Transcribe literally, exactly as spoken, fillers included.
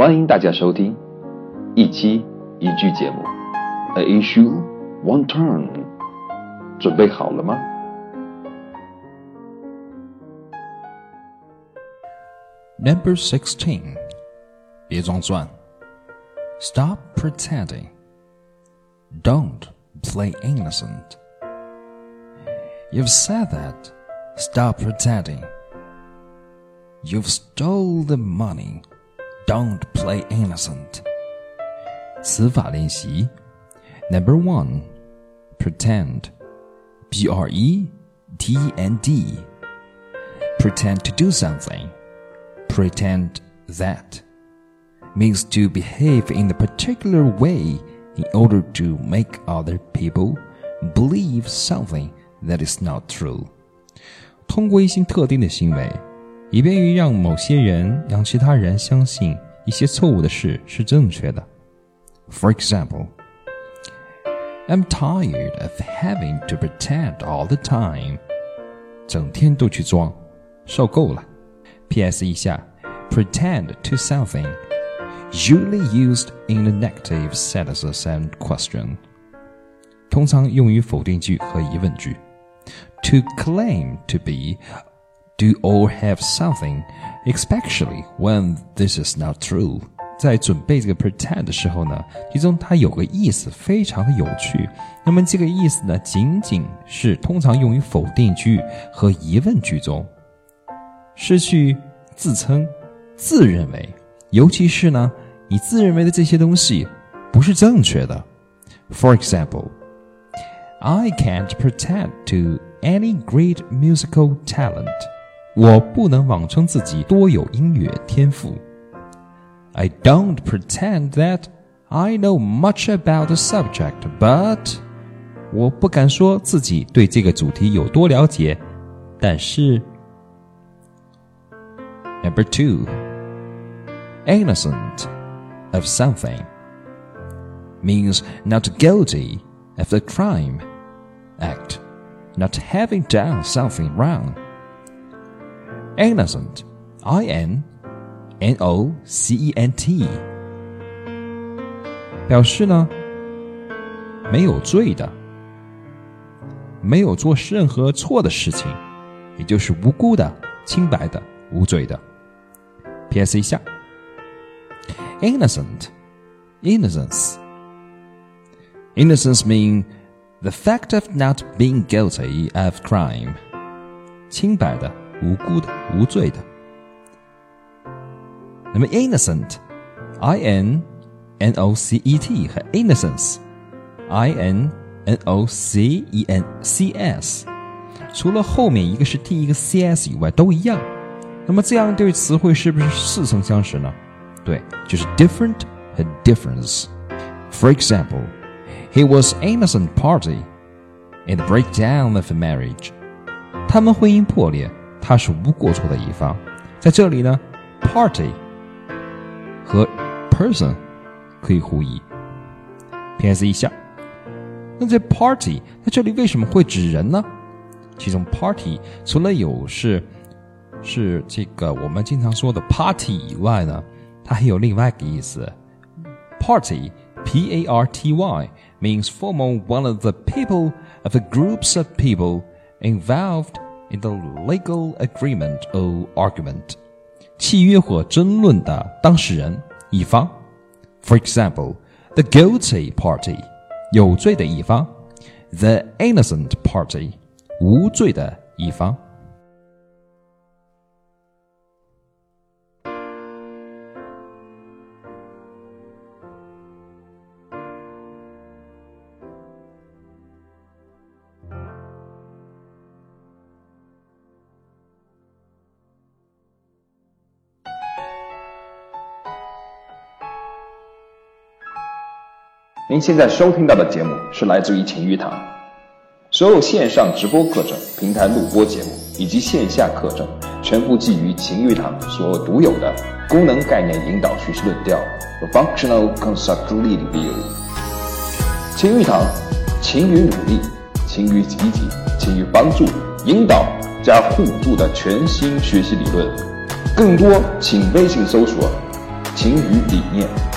欢迎大家收听一期一句节目 A issue, one turn， 准备好了吗？ Number sixteen， 别装蒜 Stop pretending. Don't play innocent. You've said that. Stop pretending. You've stole the money. Don't play innocent. 词法练习 Number one, pretend. B R E T E N D. Pretend to do something. Pretend that means to behave in a particular way in order to make other people believe something that is not true. 通过一些特定的行为，以便于让某些人让其他人相信一些错误的事是正确的。For example, I'm tired of having to pretend all the time. 整天都去装，受够了。P S 一下 pretend to something usually used in the negative sentences and question 通常用于否定句和疑问句 To claim to be, do or have something, especially when this is not true 在准备这个 pretend 的时候呢，其中它有个意思非常的有趣，那么这个意思呢，仅仅是通常用于否定句和疑问句中，是去自称自认为，尤其是呢你自认为的这些东西不是正确的。 For example, I can't pretend to any great musical talent. 我不能妄称自己多有音乐天赋。 I don't pretend that I know much about the subject, but 我不敢说自己对这个主题有多了解，但是 Number two, innocent of something means not guilty of the crime, act, not having done something wrong. Innocent, I N N O C E N T 表示呢没有罪的，没有做任何错的事情，也就是无辜的、清白的、无罪的。P S 一下Innocent, innocence. Innocence means the fact of not being guilty of crime. 清白的、无辜的、无罪的。那么 innocent, I N N O C E T 和 innocence, I N N O C E N C S 除了后面一个是 T 一个 C S 以外都一样。那么这样对词汇是不是似曾相识呢？对，就是 different 和 difference. For example, he was innocent party in the breakdown of a marriage. 他们婚姻破裂，他是无过错的一方。在这里呢 party 和 person 可以互译。P S 一下，那这 party 在这里为什么会指人呢？其中 party 除了有是是这个我们经常说的 party 以外呢，它还有另外一个意思。 Party, P A R T Y, means forming one of the people of a groups of people involved in the legal agreement or argument. 契约或争论的当事人一方。 For example, the guilty party, 有罪的一方。 The innocent party, 无罪的一方。 您现在收听到的节目是来自于晴雨堂，所有线上直播课程、平台录播节目以及线下课程，全部基于晴雨堂所独有的功能概念引导叙事论调和 Functional Concept Leading View。晴雨堂，勤于努力，勤于积极，勤于帮助、引导加互助的全新学习理论。更多请微信搜索晴雨理念。